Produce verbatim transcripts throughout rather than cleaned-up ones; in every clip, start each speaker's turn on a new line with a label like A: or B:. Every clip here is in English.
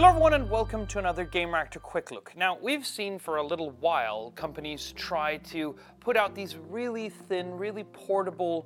A: Hello everyone and welcome to another Gamereactor Quick Look. Now, we've seen for a little while companies try to put out these really thin, really portable,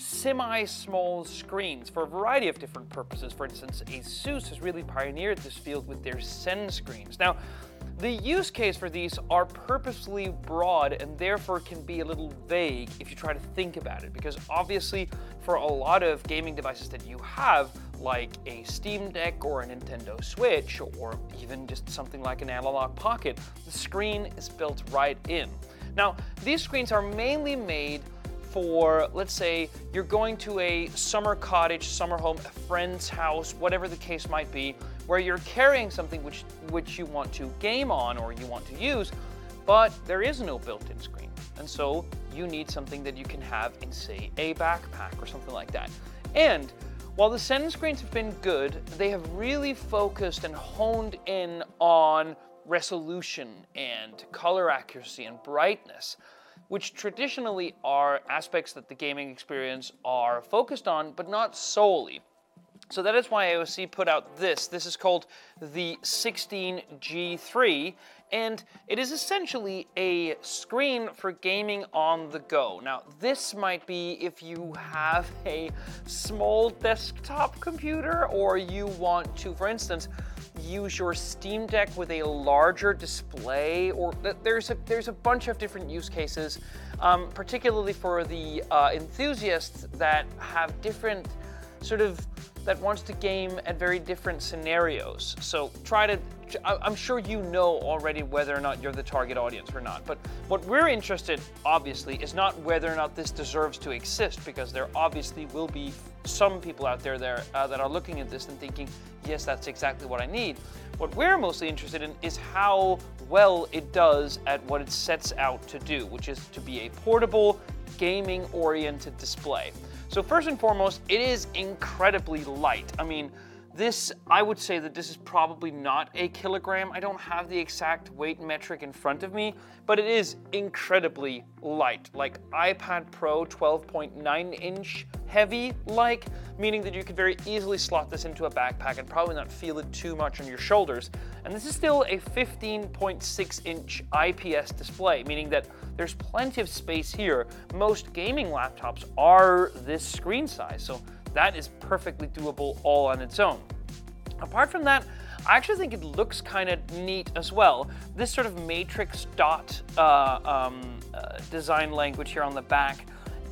A: semi-small screens for a variety of different purposes. For instance, ASUS has really pioneered this field with their Zen screens. Now, the use case for these are purposely broad and therefore can be a little vague if you try to think about it, because obviously for a lot of gaming devices that you have, like a Steam Deck or a Nintendo Switch, or even just something like an Analog Pocket, the screen is built right in. Now, these screens are mainly made for, let's say, you're going to a summer cottage, summer home, a friend's house, whatever the case might be, where you're carrying something which, which you want to game on or you want to use, but there is no built-in screen. And so you need something that you can have in, say, a backpack or something like that. And while the Zen screens have been good, they have really focused and honed in on resolution and color accuracy and brightness, which traditionally are aspects that the gaming experience are focused on, but not solely. So that is why A O C put out this. This is called the sixteen G three, and it is essentially a screen for gaming on the go. Now, this might be if you have a small desktop computer, or you want to, for instance, use your Steam Deck with a larger display, or there's a, there's a bunch of different use cases, um, particularly for the uh, enthusiasts that have different sort of, that wants to game at very different scenarios. So try to, I'm sure you know already whether or not you're the target audience or not, but what we're interested, obviously, is not whether or not this deserves to exist, because there obviously will be some people out there, there uh, that are looking at this and thinking, yes, that's exactly what I need. What we're mostly interested in is how well it does at what it sets out to do, which is to be a portable, gaming-oriented display. So first and foremost, it is incredibly light. I mean, this, I would say that this is probably not a kilogram. I don't have the exact weight metric in front of me, but it is incredibly light, like iPad Pro twelve point nine inch heavy like, meaning that you could very easily slot this into a backpack and probably not feel it too much on your shoulders. And this is still a fifteen point six inch I P S display, meaning that there's plenty of space here. Most gaming laptops are this screen size, so that is perfectly doable all on its own. Apart from that, I actually think it looks kind of neat as well. This sort of matrix dot uh, um, uh, design language here on the back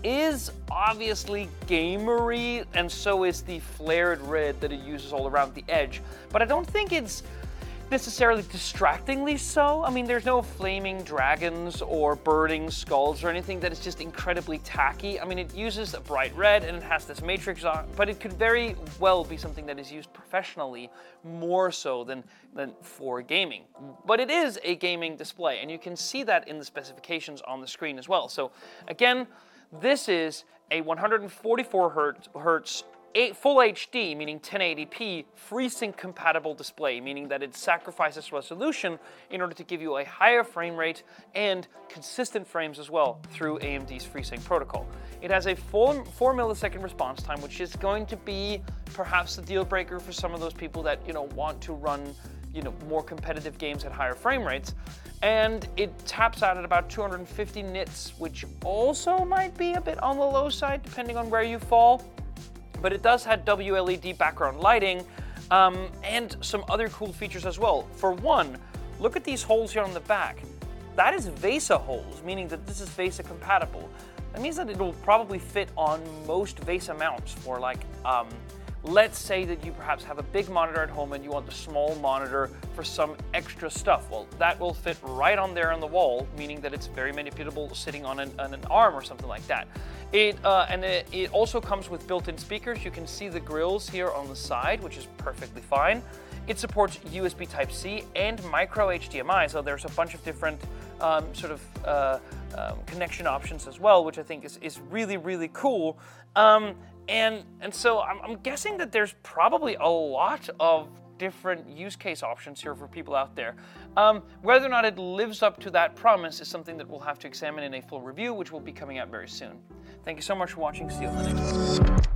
A: is obviously gamery, and so is the flared red that it uses all around the edge, but I don't think it's necessarily distractingly so. I mean, there's no flaming dragons or burning skulls or anything that is just incredibly tacky. I mean, it uses a bright red and it has this matrix on, but it could very well be something that is used professionally more so than, than for gaming. But it is a gaming display, and you can see that in the specifications on the screen as well. So again, this is a one hundred forty-four hertz full H D, meaning ten eighty p, FreeSync compatible display, meaning that it sacrifices resolution in order to give you a higher frame rate and consistent frames as well through A M D's FreeSync protocol. It has a full four millisecond response time, which is going to be perhaps the deal breaker for some of those people that, you know, want to run, you know, more competitive games at higher frame rates. And it taps out at about two hundred fifty nits, which also might be a bit on the low side depending on where you fall. But it does have W L E D background lighting um, and some other cool features as well. For one, look at these holes here on the back. That is VESA holes, meaning that this is VESA compatible. That means that it will probably fit on most VESA mounts for, like, um, let's say that you perhaps have a big monitor at home and you want the small monitor for some extra stuff. Well, that will fit right on there on the wall, meaning that it's very manipulable sitting on an, on an arm or something like that. It, uh, and it, it also comes with built-in speakers. You can see the grills here on the side, which is perfectly fine. It supports U S B Type C and micro H D M I, so there's a bunch of different um, sort of uh, um, connection options as well, which I think is, is really, really cool. Um, and, and so I'm, I'm guessing that there's probably a lot of different use case options here for people out there. Um, whether or not it lives up to that promise is something that we'll have to examine in a full review, which will be coming out very soon. Thank you so much for watching. See you on the next one.